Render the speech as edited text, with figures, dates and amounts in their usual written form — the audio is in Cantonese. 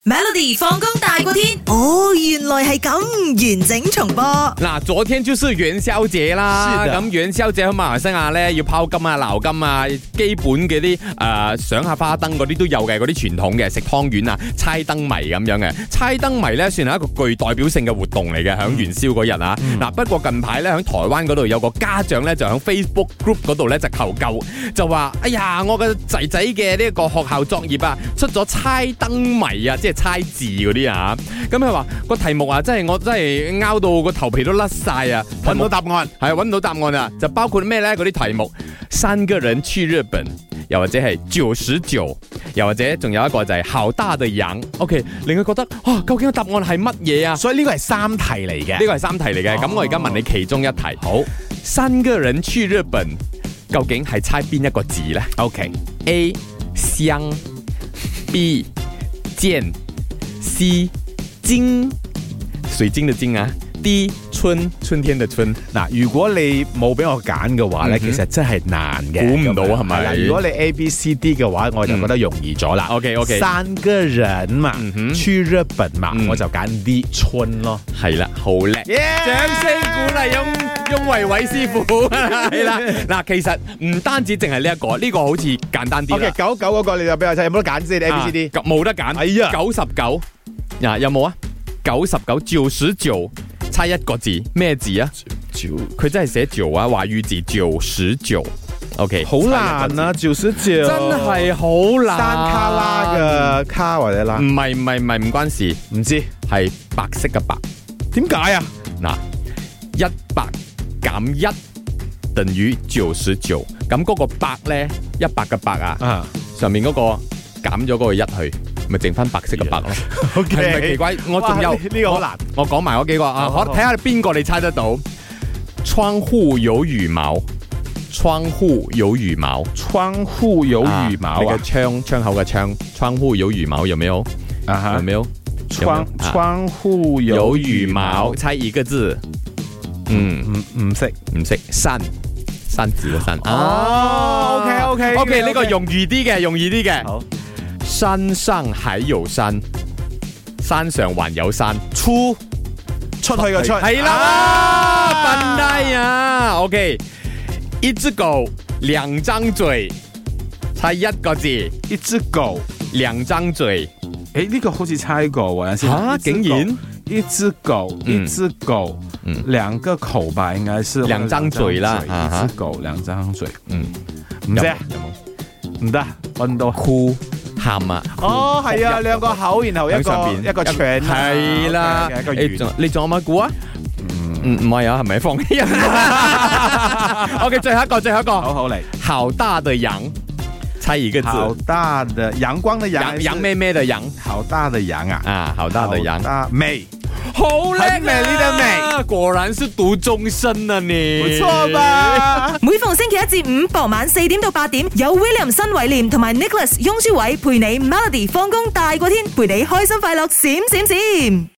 Melody 放工大過天，哦，原來係咁，完整重播。 嗱，昨天就是元宵節啦，咁元宵節喺馬來西亞咧要拋金啊、撈金啊，基本嘅啲上下花燈嗰啲都有嘅，嗰啲傳統嘅食湯圓啊、猜燈謎咁樣嘅。猜燈謎咧算係一個具代表性嘅活動嚟嘅，響元宵嗰日啊。嗱，不過近排咧響台灣嗰度有個家長咧就響 Facebook group 嗰度咧就求救，就話：哎呀，我嘅仔仔嘅呢個學校作業啊出咗猜燈謎啊，即係猜字嗰啲啊，咁佢話個題目啊，我真係拗到個頭皮都甩晒啊， 揾唔到答案， 係揾唔到答案啊，就包括咩咧？嗰啲題目，3個人去日本，又或者係99，又或者仲有一個就係好大的羊 ，OK， 令佢覺得究竟個答案係乜嘢啊？ 所以呢個係3題嚟嘅， 呢個係3題嚟嘅，咁我而家問你其中一題，好，3個人去日本，究竟係猜邊一個字咧 ？OK，A 香，B 劍。C 金，水晶的晶啊。D 春天的春。 嗱，如果你冇俾我揀嘅話咧，其實真係難嘅， 估唔到係咪？ 如果你 A、B、C、D 嘅話，我就覺得容易咗啦。 OK， 3個人嘛，去日本嘛，我就揀 D 春咯。 係啦，好叻，掌聲鼓勵翁維偉師傅。係啦，嗱，其實唔單止淨係呢一個，呢個好似簡單啲。 OK，99嗰個你就俾我睇，有冇得揀先 ？A、B、C、D 冇得揀。哎呀，99，有冇啊？99，99，猜一個字，咩字啊？佢真係寫9啊，華語字99。OK， 好難啊，99 真係好難。 山卡拉嘅卡或者拉？ 唔係，唔關事， 唔知係白色嘅白。 點解啊？ 嗱，100減1等於99，咁嗰個百咧，100嘅百啊，上面嗰個減咗嗰個1去。咪剩翻白色嘅白咯，係咪奇怪？我仲有呢個好難， 我講埋嗰幾個啊，我睇下邊個你猜得到？窗戶有羽毛，窗戶有羽毛， 窗戶有羽毛啊！ 窗口嘅窗，窗戶有羽毛，有沒有？有沒有？ 窗戶有羽毛， 猜一個字。 唔識山字嘅山。 哦，OK， 呢個容易啲嘅，好。山上還有山，山上還有山，出去嘅出，係啦，笨蛋呀 ！OK， 一隻狗兩張嘴，猜一個字， 一隻狗兩張嘴， 呢個好似猜過喎， 竟然一隻狗，兩個口吧，應該是兩張嘴啦， 一隻狗兩張嘴，唔知啊，唔得，搵到哭。喊啊！ 係啊，兩個口，然後一個腸， 係啦。你仲有乜估啊？唔係啊，係咪放棄啊 ？OK， 最後一個， 好嚟。 好大的羊，猜一個字。 好大的陽光的陽， 羊咩咩的羊？ 好大的羊啊！ 好大的羊。 美， 好叻啊！ 美麗的美， 果然是讀中生啊你， 唔錯吧？ 每逢星期1至5傍晚4點到8點，有 William 新偉廉同埋 Nicholas 雍舒偉陪你 Melody 放工大過天，陪你開心快樂閃閃閃。